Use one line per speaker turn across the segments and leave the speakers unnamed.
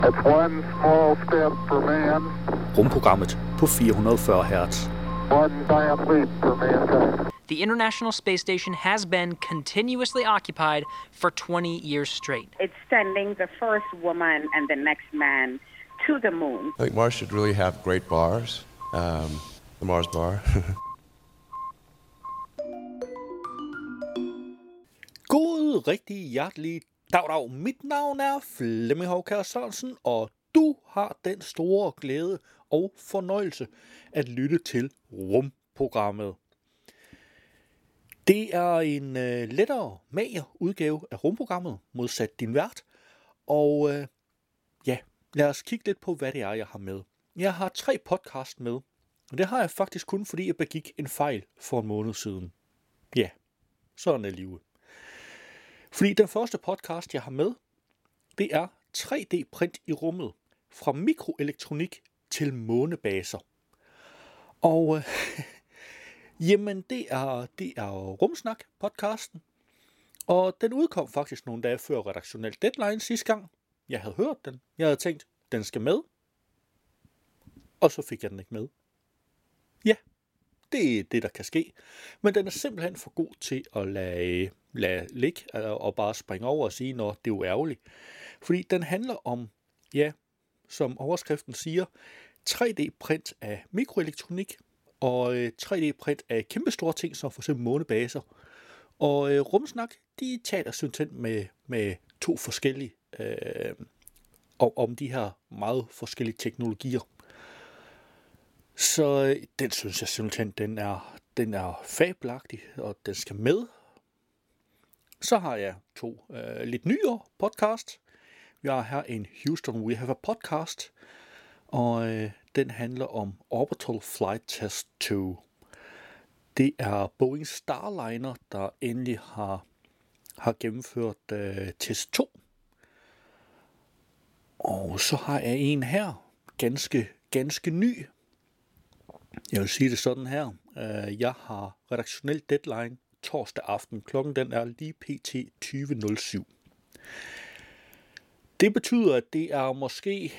It's one small step for man.
Rumprogrammet på 440 Hz.
One giant leap for mankind.
The International Space Station has been continuously occupied for 20 years straight.
It's sending the first woman and the next man to the moon.
I think Mars should really have great bars. The Mars bar.
God, rigtig hjertelig dag. Mit navn er Flemming Hovkær Sørensen, og du har den store glæde og fornøjelse at lytte til Rumprogrammet. Det er en lettere, mager udgave af Rumprogrammet, modsat din vært. Og lad os kigge lidt på, hvad det er, jeg har med. Jeg har 3 podcast med, og det har jeg faktisk kun, fordi jeg begik en fejl for en måned siden. Ja, sådan er livet. Fordi den første podcast, jeg har med, det er 3D-print i rummet. Fra mikroelektronik til månebaser. Og jamen, det er Rumsnak-podcasten. Og den udkom faktisk nogle dage før redaktionel deadline sidste gang. Jeg havde hørt den. Jeg havde tænkt, den skal med. Og så fik jeg den ikke med. Ja, det er det, der kan ske. Men den er simpelthen for god til at lade ligge og bare springe over og sige, når det er jo ærgerligt. Fordi den handler om, ja, som overskriften siger, 3D-print af mikroelektronik og 3D-print af kæmpestore ting, som for eksempel månebaser. Og Rumsnak, de taler simpelthen med 2 forskellige om de her meget forskellige teknologier. Så den synes jeg simpelthen, den er fabelagtig, og den skal med. Så har jeg 2 lidt nyere podcast. Vi har her en Houston We Have a Podcast, og den handler om Orbital Flight Test 2. Det er Boeing Starliner, der endelig har gennemført test 2. Og så har jeg en her, ganske ny. Jeg vil sige det sådan her. Jeg har redaktionel deadline torsdag aften. Klokken den er lige pt. 20.07. Det betyder, at det er måske,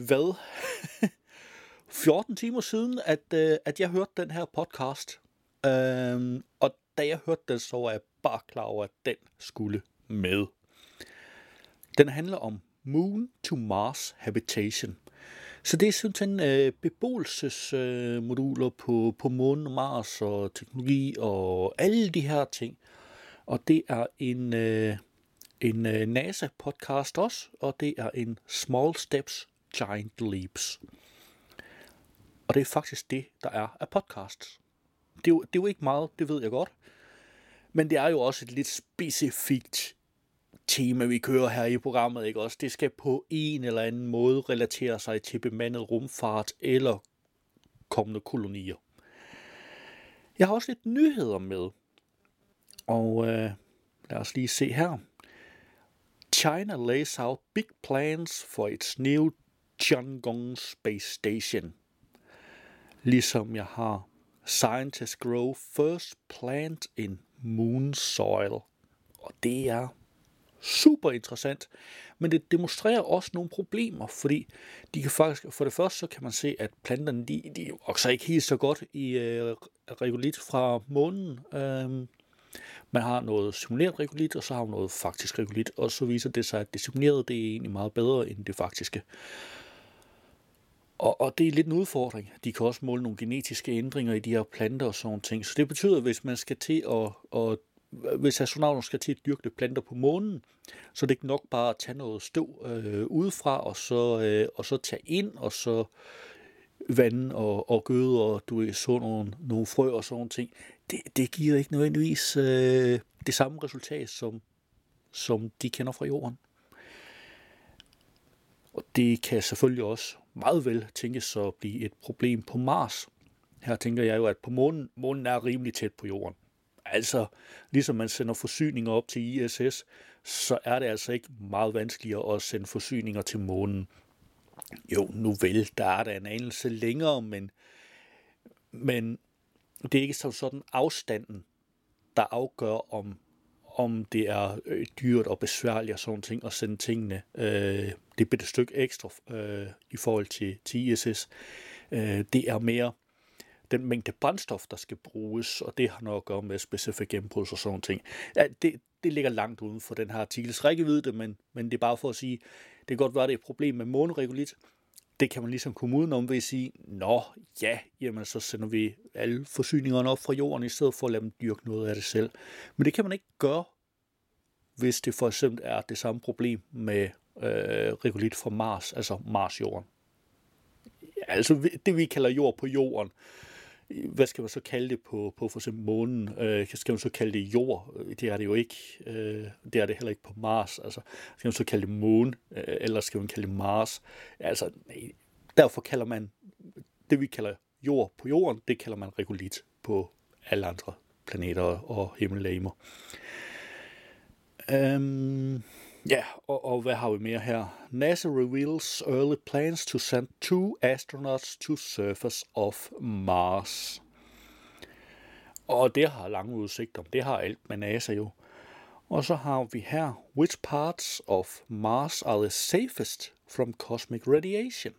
14 timer siden, at jeg hørte den her podcast. Og da jeg hørte den, så var jeg bare klar over, at den skulle med. Den handler om Moon to Mars Habitation. Så det er simpelthen beboelsesmoduler på månen og Mars og teknologi og alle de her ting. Og det er en NASA-podcast også, og det er en Small Steps, Giant Leaps. Og det er faktisk det, der er af podcasts. Det er jo ikke meget, det ved jeg godt. Men det er jo også et lidt specifikt tema, vi kører her i programmet, ikke også? Det skal på en eller anden måde relatere sig til bemandet rumfart eller kommende kolonier. Jeg har også lidt nyheder med. Og lad os lige se her. China lays out big plans for its new Tiangong Space Station. Ligesom jeg har Scientists grow first plant in moon soil. Og det er super interessant, men det demonstrerer også nogle problemer, fordi de kan faktisk, for det første så kan man se, at planterne de vokser ikke helt så godt i regolit fra månen. Man har noget simuleret regolit, og så har man noget faktisk regolit, og så viser det sig, at det simulerede det er egentlig meget bedre end det faktiske. Og det er lidt en udfordring. De kan også måle nogle genetiske ændringer i de her planter og sådan ting. Så det betyder, at hvis man skal til hvis astronauten skal til at dyrke planter på månen, så er det ikke nok bare at tage noget støv udefra, og så tage ind, og så vande og gøde, og så nogle frø og sådan ting. Det giver ikke nødvendigvis det samme resultat, som de kender fra jorden. Og det kan selvfølgelig også meget vel tænkes at blive et problem på Mars. Her tænker jeg jo, at på månen er rimelig tæt på jorden. Altså, ligesom man sender forsyninger op til ISS, så er det altså ikke meget vanskeligere at sende forsyninger til månen. Jo, nu vel, der er der en anelse længere, men det er ikke sådan afstanden, der afgør, om det er dyrt og besværligt og sådan ting, at sende tingene det bitte stykke ekstra i forhold til ISS. Det er mere den mængde brændstof, der skal bruges, og det har noget at gøre med specifikke gennembrud og sådan ting. Ja, det ligger langt uden for den her artikels rækkevidde, men det er bare for at sige, det kan godt være, det er et problem med måneregulit. Det kan man ligesom komme udenom ved at sige, jamen så sender vi alle forsyningerne op fra jorden, i stedet for at lade dem dyrke noget af det selv. Men det kan man ikke gøre, hvis det for eksempel er det samme problem med regulit fra Mars, altså Mars-jorden. Altså det vi kalder jord på jorden. Hvad skal man så kalde det på for eksempel månen? Skal man så kalde det jord? Det er det jo ikke. Det er det heller ikke på Mars. Altså, skal man så kalde det måne? Eller skal man kalde det Mars? Altså, derfor kalder man det, vi kalder jord på jorden, det kalder man regulit på alle andre planeter og himmellegemer. Og hvad har vi mere her? NASA reveals early plans to send 2 astronauts to surface of Mars. Og det har lange udsigter. Det har alt med NASA jo. Og så har vi her, which parts of Mars are the safest from cosmic radiation?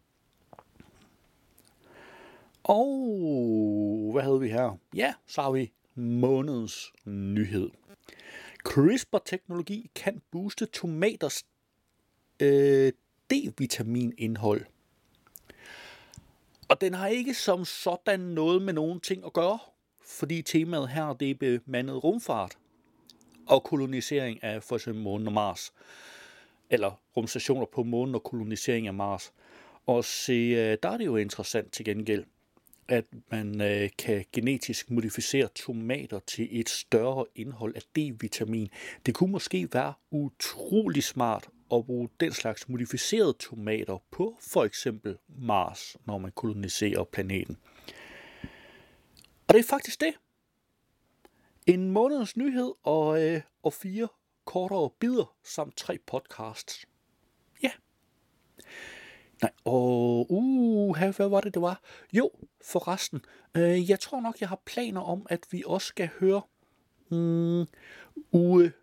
Og hvad havde vi her? Ja, så har vi månedens nyhed. CRISPR-teknologi kan booste tomaters D-vitaminindhold. Og den har ikke som sådan noget med nogen ting at gøre, fordi temaet her det er bemandet rumfart og kolonisering af for eksempel månen og Mars. Eller rumstationer på månen og kolonisering af Mars. Og se, der er det jo interessant til gengæld, at man kan genetisk modificere tomater til et større indhold af D-vitamin. Det kunne måske være utrolig smart at bruge den slags modificerede tomater på for eksempel Mars, når man koloniserer planeten. Og det er faktisk det. En måneds nyhed og 4 kortere bidder samt 3 podcasts. Ja. Nej, og hvad var det var? Jo, forresten, jeg tror nok, jeg har planer om, at vi også skal høre uge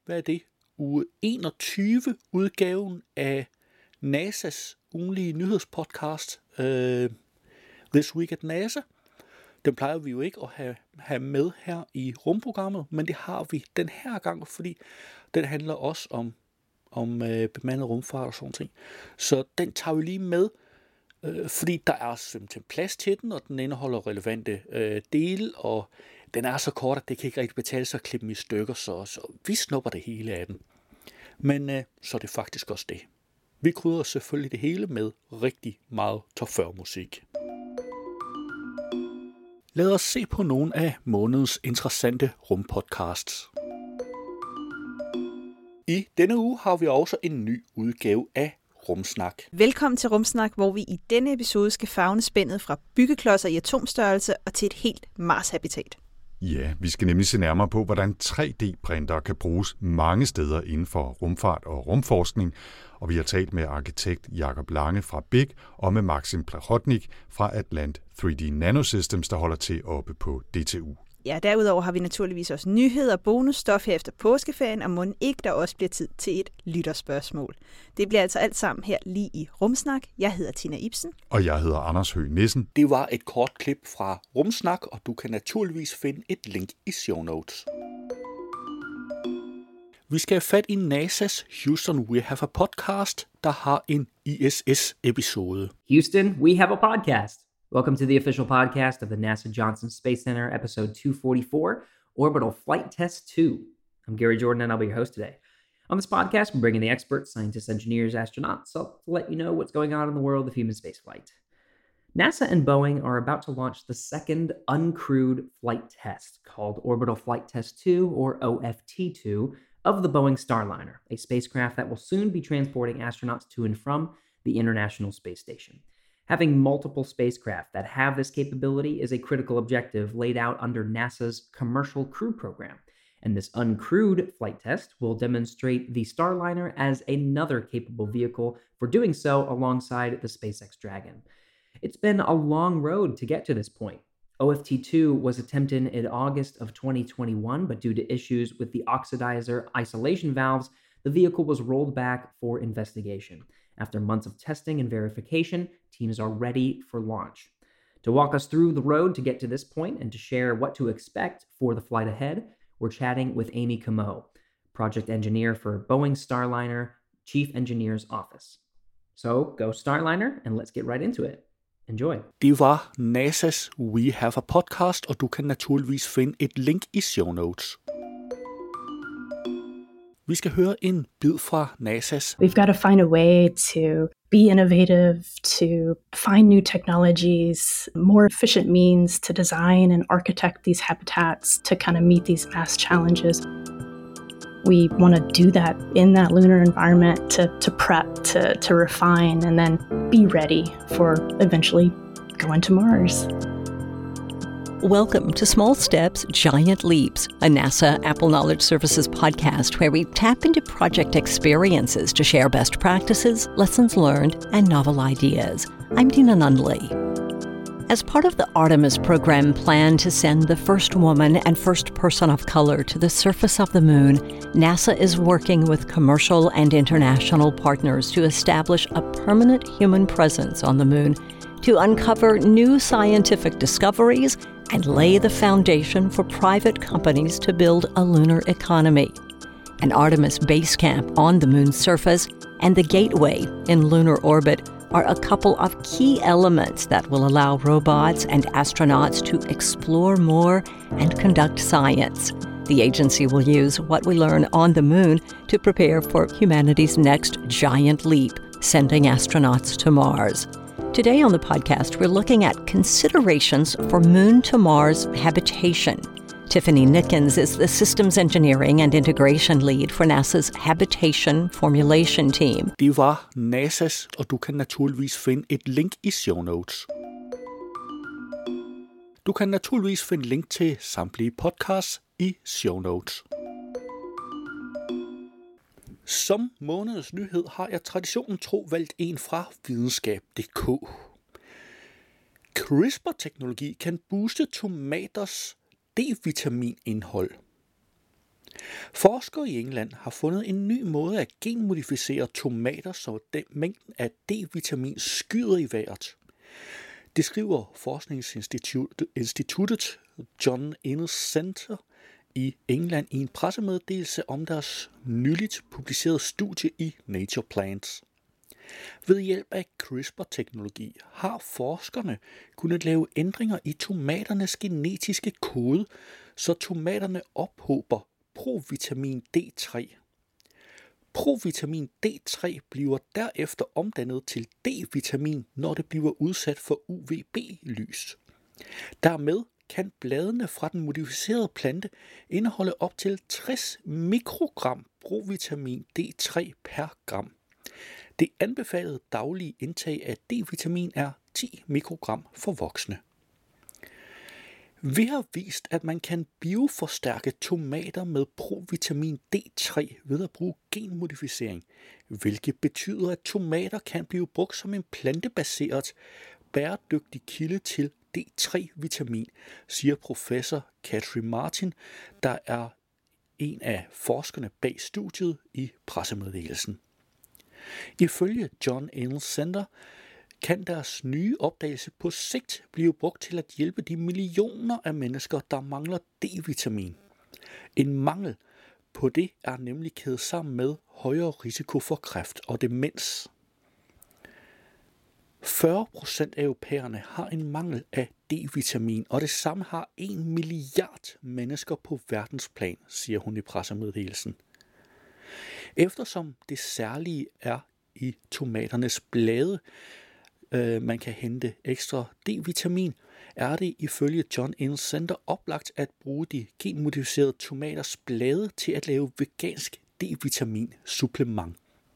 21 udgaven af NASA's ugenlige nyhedspodcast, This Week at NASA. Den plejer vi jo ikke at have med her i rumprogrammet, men det har vi den her gang, fordi den handler også om bemandet rumfart og sådan ting. Så den tager vi lige med, fordi der er simpelthen plads til den, og den indeholder relevante dele, og den er så kort, at det kan ikke rigtig betale sig at klippe dem i stykker, så vi snupper det hele af den. Men så er det faktisk også det. Vi krydder selvfølgelig det hele med rigtig meget top 40 musik. Lad os se på nogle af månedens interessante rumpodcasts. I denne uge har vi også en ny udgave af Rumsnak.
Velkommen til Rumsnak, hvor vi i denne episode skal favne spændet fra byggeklodser i atomstørrelse og til et helt Mars-habitat.
Ja, vi skal nemlig se nærmere på, hvordan 3D-printere kan bruges mange steder inden for rumfart og rumforskning. Og vi har talt med arkitekt Jakob Lange fra BIG og med Maxim Plahotnik fra Atlant 3D Nanosystems, der holder til oppe på DTU.
Ja, derudover har vi naturligvis også nyheder og bonusstof her efter påskeferien, og mon ikke der også bliver tid til et lytterspørgsmål. Det bliver altså alt sammen her lige i Rumsnak. Jeg hedder Tina Ibsen.
Og jeg hedder Anders Høgh Nissen.
Det var et kort klip fra Rumsnak, og du kan naturligvis finde et link i show notes. Vi skal have fat i NASA's Houston We Have a Podcast, der har en ISS-episode.
Houston, we have a podcast. Welcome to the official podcast of the NASA Johnson Space Center, episode 244, Orbital Flight Test 2. I'm Gary Jordan, and I'll be your host today. On this podcast, we bring in the experts, scientists, engineers, astronauts, to let you know what's going on in the world of human spaceflight. NASA and Boeing are about to launch the second uncrewed flight test, called Orbital Flight Test 2, or OFT2, of the Boeing Starliner, a spacecraft that will soon be transporting astronauts to and from the International Space Station. Having multiple spacecraft that have this capability is a critical objective laid out under NASA's Commercial Crew Program, and this uncrewed flight test will demonstrate the Starliner as another capable vehicle for doing so alongside the SpaceX Dragon. It's been a long road to get to this point. OFT-2 was attempted in August of 2021, but due to issues with the oxidizer isolation valves, the vehicle was rolled back for investigation. After months of testing and verification, teams are ready for launch. To walk us through the road to get to this point and to share what to expect for the flight ahead, we're chatting with Amy Comeau, project engineer for Boeing Starliner Chief Engineer's Office. So go Starliner, and let's get right into it. Enjoy.
Det var NASA's We Have a Podcast, og du kan naturligvis finde et link i show notes. Vi skal høre en bid fra NASA's.
We've got to find a way to be innovative, to find new technologies, more efficient means to design and architect these habitats to kind of meet these mass challenges. We want to do that in that lunar environment to prep, to refine, and then be ready for eventually going to Mars.
Welcome to Small Steps, Giant Leaps, a NASA Apple Knowledge Services podcast where we tap into project experiences to share best practices, lessons learned, and novel ideas. I'm Dina Nunley. As part of the Artemis program plan to send the first woman and first person of color to the surface of the moon, NASA is working with commercial and international partners to establish a permanent human presence on the moon to uncover new scientific discoveries and lay the foundation for private companies to build a lunar economy. An Artemis base camp on the moon's surface and the gateway in lunar orbit are a couple of key elements that will allow robots and astronauts to explore more and conduct science. The agency will use what we learn on the moon to prepare for humanity's next giant leap, sending astronauts to Mars. Today on the podcast, we're looking at considerations for Moon to Mars habitation. Tiffany Nickens is the Systems Engineering and Integration Lead for NASA's Habitation Formulation Team.
Det var NASA's, og du kan naturligvis finde et link i show notes. Du kan naturligvis finde link til samtlige podcasts i show notes. Som månedens nyhed har jeg traditionen tro valgt en fra videnskab.dk. CRISPR-teknologi kan booste tomaters D-vitaminindhold. Forskere i England har fundet en ny måde at genmodificere tomater, så mængden af D-vitamin skyder i vejret. Det skriver forskningsinstituttet John Innes Center i England i en pressemeddelelse om deres nyligt publicerede studie i Nature Plants. Ved hjælp af CRISPR-teknologi har forskerne kunnet lave ændringer i tomaternes genetiske kode, så tomaterne ophober provitamin D3. Provitamin D3 bliver derefter omdannet til D-vitamin, når det bliver udsat for UVB-lys. Dermed kan bladene fra den modificerede plante indeholde op til 60 mikrogram provitamin D3 per gram. Det anbefalede daglige indtag af D-vitamin er 10 mikrogram for voksne. Vi har vist, at man kan bioforstærke tomater med provitamin D3 ved at bruge genmodificering, hvilket betyder, at tomater kan blive brugt som en plantebaseret, bæredygtig kilde til D3-vitamin, siger professor Katrin Martin, der er en af forskerne bag studiet i pressemeddelelsen. Ifølge John Innes Center kan deres nye opdagelse på sigt blive brugt til at hjælpe de millioner af mennesker, der mangler D-vitamin. En mangel på det er nemlig kædet sammen med højere risiko for kræft og demens. 40% af europæerne har en mangel af D-vitamin, og det samme har 1 milliard mennesker på verdensplan, siger hun i pressemeddelelsen. Eftersom det særlige er i tomaternes blade, man kan hente ekstra D-vitamin, er det ifølge John Innes Center oplagt at bruge de genmodificerede tomaters blade til at lave vegansk D-vitamin supplement.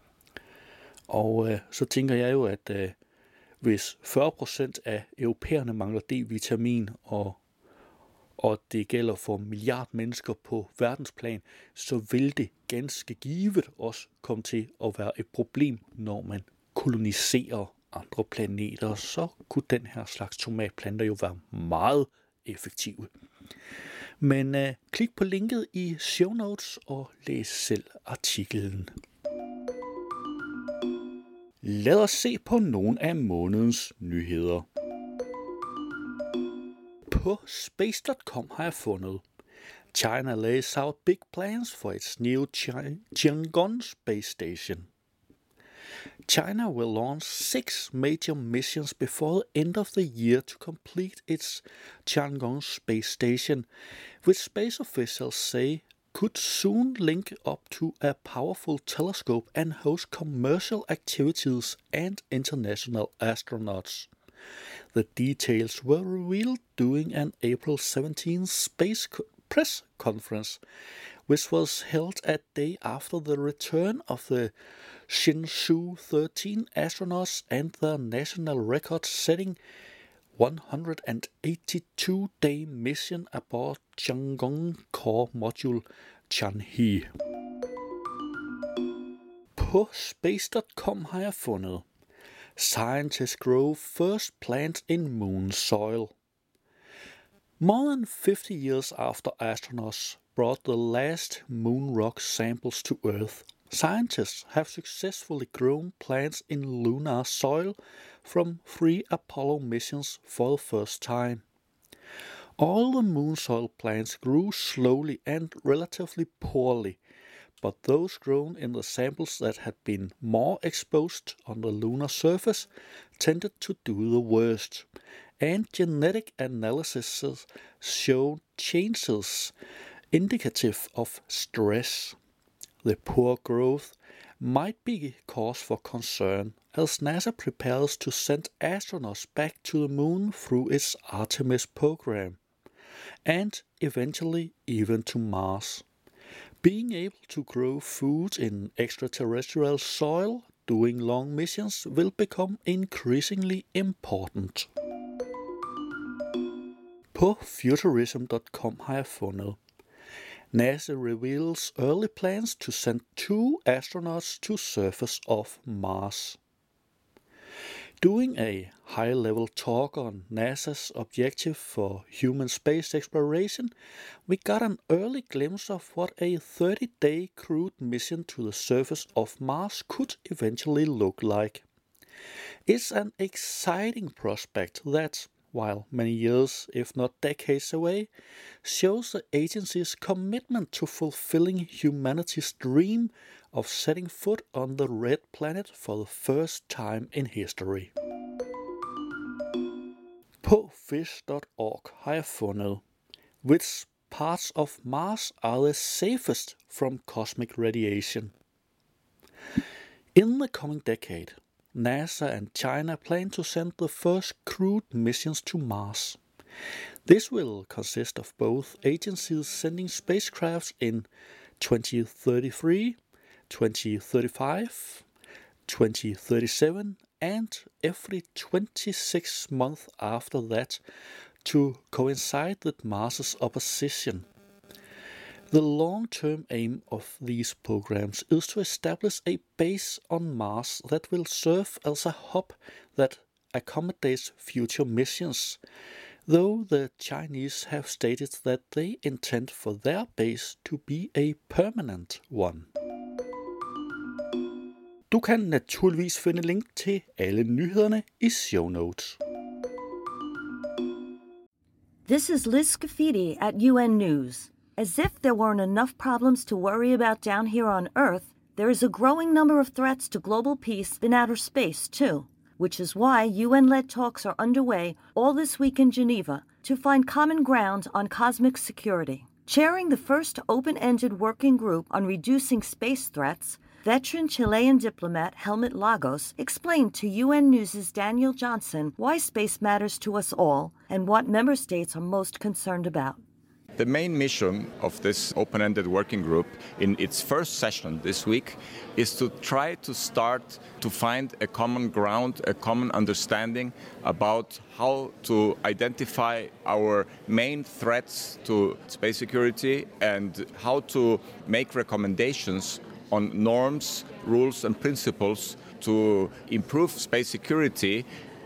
Og så tænker jeg jo, at hvis 40% af europæerne mangler D-vitamin, og det gælder for milliard mennesker på verdensplan, så vil det ganske givet også komme til at være et problem, når man koloniserer andre planeter. Så kunne den her slags tomatplanter jo være meget effektive. Men klik på linket i show notes og læs selv artiklen. Lad os se på nogle af månedens nyheder. På space.com har jeg fundet: China lays out big plans for its new Tiangong space station. China will launch 6 major missions before the end of the year to complete its Tiangong space station, which space officials say could soon link up to a powerful telescope and host commercial activities and international astronauts. The details were revealed during an April 17th space press conference, which was held a day after the return of the Shenzhou 13 astronauts and their national record-setting 182-day mission aboard Tiangong core module Tianhe. På space.com har jeg fundet: Scientists grow first plant in moon soil. More than 50 years after astronauts brought the last moon rock samples to Earth, scientists have successfully grown plants in lunar soil from 3 Apollo missions for the first time. All the moon soil plants grew slowly and relatively poorly, but those grown in the samples that had been more exposed on the lunar surface tended to do the worst, and genetic analysis showed changes indicative of stress. The poor growth might be cause for concern as NASA prepares to send astronauts back to the moon through its Artemis program, and eventually even to Mars. Being able to grow food in extraterrestrial soil doing long missions will become increasingly important. På futurism.com har jeg fundet: NASA reveals early plans to send 2 astronauts to surface of Mars. During a high-level talk on NASA's objective for human space exploration, we got an early glimpse of what a 30-day crewed mission to the surface of Mars could eventually look like. It's an exciting prospect that, while many years, if not decades away, shows the agency's commitment to fulfilling humanity's dream of setting foot on the red planet for the first time in history. På fish.org har jeg fundet: Which parts of Mars are the safest from cosmic radiation? In the coming decade, NASA and China plan to send the first crewed missions to Mars. This will consist of both agencies sending spacecrafts in 2033, 2035, 2037, and every 26 months after that to coincide with Mars's opposition. The long-term aim of these programs is to establish a base on Mars that will serve as a hub that accommodates future missions, though the Chinese have stated that they intend for their base to be a permanent one. Du kan naturligvis finde link til alle nyhederne i show notes.
This is Liz Scafidi at UN News. As if there weren't enough problems to worry about down here on Earth, there is a growing number of threats to global peace in outer space, too, which is why UN-led talks are underway all this week in Geneva to find common ground on cosmic security. Chairing the first open-ended working group on reducing space threats, veteran Chilean diplomat Helmut Lagos explained to UN News' Daniel Johnson why space matters to us all and what member states are most concerned about.
The main mission of this open-ended working group in its first session this week is to try to start to find a common ground, a common understanding about how to identify our main threats to space security and how to make recommendations on norms, rules and principles to improve space security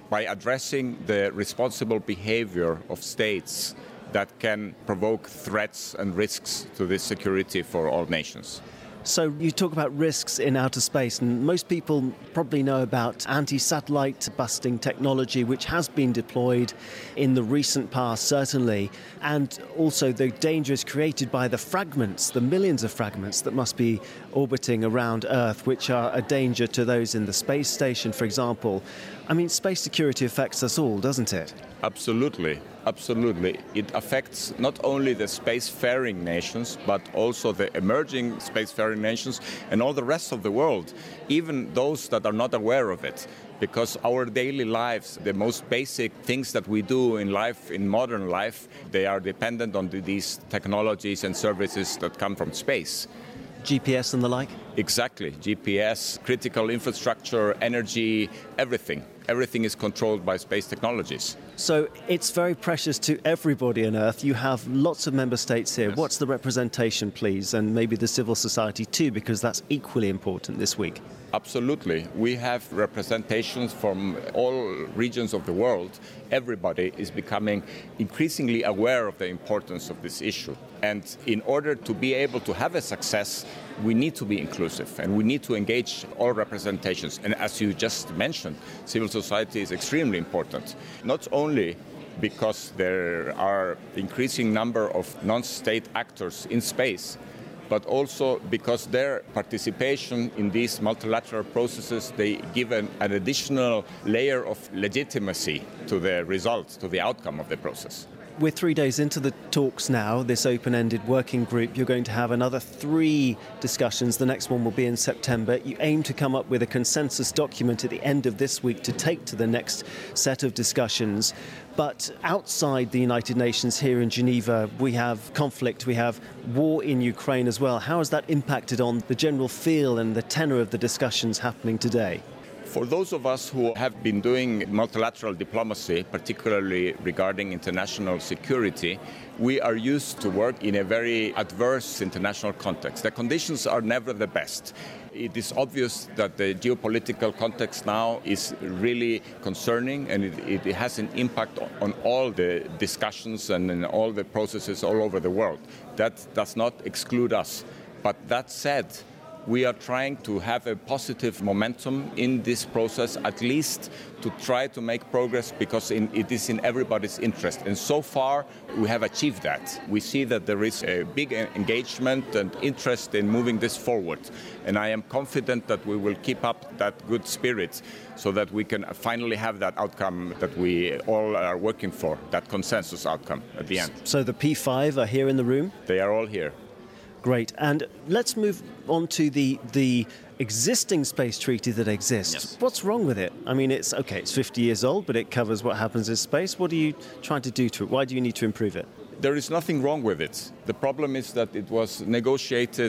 by addressing the responsible behavior of states that can provoke threats and risks to the security for all nations.
So you talk about risks in outer space, and most people probably know about anti-satellite busting technology, which has been deployed in the recent past, certainly, and also the dangers created by the fragments, the millions of fragments that must be orbiting around Earth, which are a danger to those in the space station, for example. I mean, space security affects us all, doesn't it?
Absolutely. Absolutely. It affects not only the spacefaring nations, but also the emerging spacefaring nations and all the rest of the world, even those that are not aware of it. Because our daily lives, the most basic things that we do in life, in modern life, they are dependent on these technologies and services that come from space.
GPS and the like?
Exactly. GPS, critical infrastructure, energy, everything. Everything is controlled by space technologies.
So it's very precious to everybody on Earth. You have lots of member states here.
Yes.
What's the representation, please? And maybe the civil society too, because that's equally important this week.
Absolutely. We have representations from all regions of the world. Everybody is becoming increasingly aware of the importance of this issue. And in order to be able to have a success, we need to be inclusive and we need to engage all representations. And as you just mentioned, civil society is extremely important. Not only because there are increasing number of non-state actors in space, but also because their participation in these multilateral processes, they give an additional layer of legitimacy to the results, to the outcome of the process.
We're 3 days into the talks now, this open-ended working group. You're going to have another 3 discussions. The next one will be in September. You aim to come up with a consensus document at the end of this week to take to the next set of discussions. But outside the United Nations here in Geneva, we have conflict, we have war in Ukraine as well. How has that impacted on the general feel and the tenor of the discussions happening today?
For those of us who have been doing multilateral diplomacy, particularly regarding international security, we are used to work in a very adverse international context. The conditions are never the best. It is obvious that the geopolitical context now is really concerning, and it has an impact on all the discussions and in all the processes all over the world. That does not exclude us. But that said, we are trying to have a positive momentum in this process, at least to try to make progress, because it is in everybody's interest. And so far, we have achieved that. We see that there is a big engagement and interest in moving this forward. And I am confident that we will keep up that good spirit so that we can finally have that outcome that we all are working for, that consensus outcome at the end.
So the P5 are here in the room?
They are all here.
Great. And let's move on to the existing space treaty that exists.
Yes.
What's wrong with it? I mean, it's 50 years old, but it covers what happens in space. What are you trying to do to it? Why do you need to improve it?
There is nothing wrong with it. The problem is that it was negotiated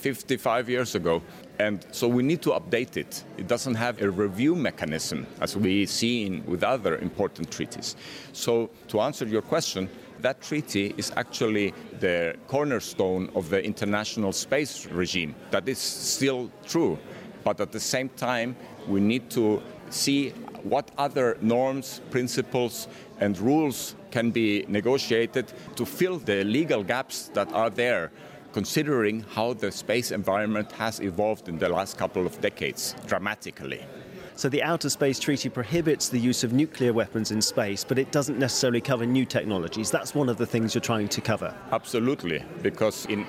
55 years ago, and so we need to update it. It doesn't have a review mechanism, as we see with other important treaties. So, to answer your question, that treaty is actually the cornerstone of the international space regime. That is still true, but at the same time, we need to see what other norms, principles, and rules can be negotiated to fill the legal gaps that are there, considering how the space environment has evolved in the last couple of decades dramatically.
So the Outer Space Treaty prohibits the use of nuclear weapons in space, but it doesn't necessarily cover new technologies. That's one of the things you're trying to cover.
Absolutely, because in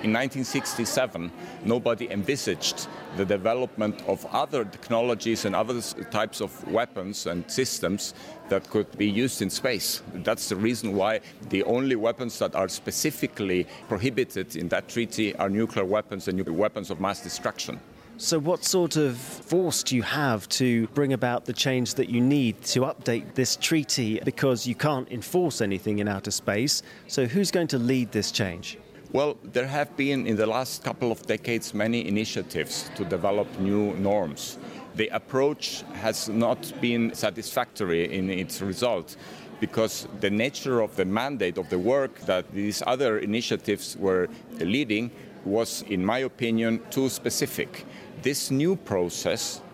1967, nobody envisaged the development of other technologies and other types of weapons and systems that could be used in space. That's the reason why the only weapons that are specifically prohibited in that treaty are nuclear weapons and weapons of mass destruction.
So what sort of force do you have to bring about the change that you need to update this treaty? Because you can't enforce anything in outer space. So who's going to lead this change?
Well, there have been in the last couple of decades many initiatives to develop new norms. The approach has not been satisfactory in its result, because the nature of the mandate of the work that these other initiatives were leading was, in my opinion, too specific. This new process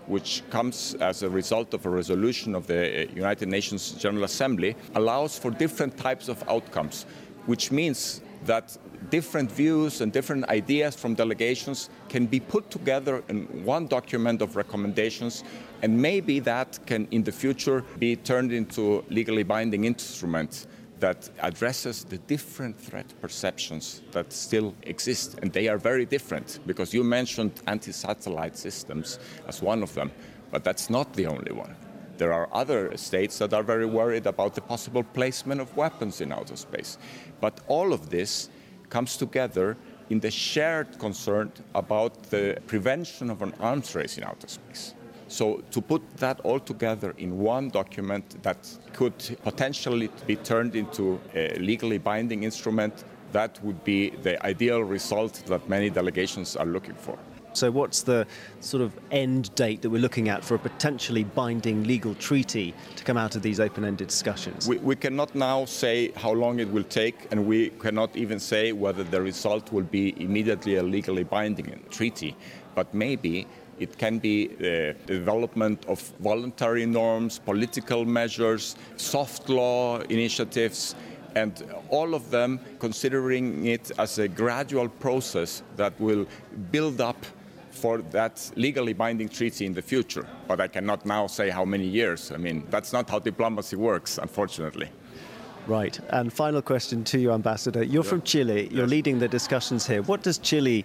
which comes as a result of a resolution of the United Nations General Assembly, allows for different types of outcomes, which means that different views and different ideas from delegations can be put together in one document of recommendations, and maybe that can in the future be turned into legally binding instruments that addresses the different threat perceptions that still exist. And they are very different, because you mentioned anti-satellite systems as one of them, but that's not the only one. There are other states that are very worried about the possible placement of weapons in outer space. But all of this comes together in the shared concern about the prevention of an arms race in outer space. So to put that all together in one document that could potentially be turned into a legally binding instrument, that would be the ideal result that many delegations are looking for.
So what's the sort of end date that we're looking at for a potentially binding legal treaty to come out of these open-ended discussions?
We cannot now say how long it will take, and we cannot even say whether the result will be immediately a legally binding treaty. But maybe it can be the development of voluntary norms, political measures, soft law initiatives, and all of them considering it as a gradual process that will build up for that legally binding treaty in the future. But I cannot now say how many years. I mean, that's not how diplomacy works, unfortunately.
Right. And final question to you, Ambassador. You're from Chile. You're leading the discussions here. What does Chile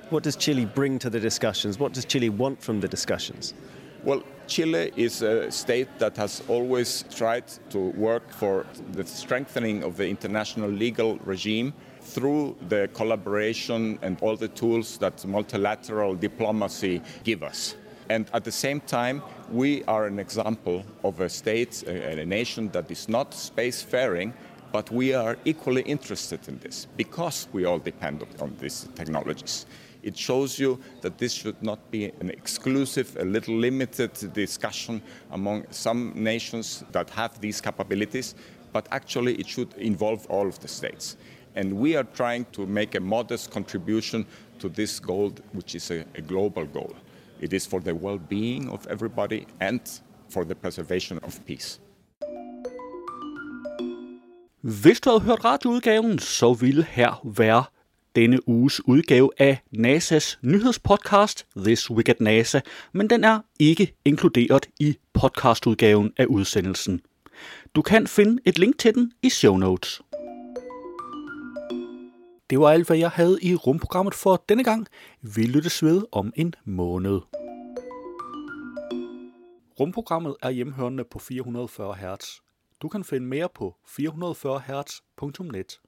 bring to the discussions? What does Chile want from the discussions?
Well, Chile is a state that has always tried to work for the strengthening of the international legal regime through the collaboration and all the tools that multilateral diplomacy give us. And at the same time, we are an example of a state, a nation that is not spacefaring, but we are equally interested in this because we all depend on these technologies. It shows you that this should not be an exclusive, a little limited discussion among some nations that have these capabilities, but actually it should involve all of the states. And we are trying to make a modest contribution to this goal, which is a global goal. It is for the well-being of everybody and for the preservation of peace.
Hvis du havde hørt radioudgaven, så ville her være denne uges udgave af NASA's nyhedspodcast This Week at NASA, men den er ikke inkluderet i podcastudgaven af udsendelsen. Du kan finde et link til den i show notes. Det var alt, hvad jeg havde i rumprogrammet for denne gang. Vi lyttes ved om en måned. Rumprogrammet er hjemhørende på 440 Hz. Du kan finde mere på 440hz.net.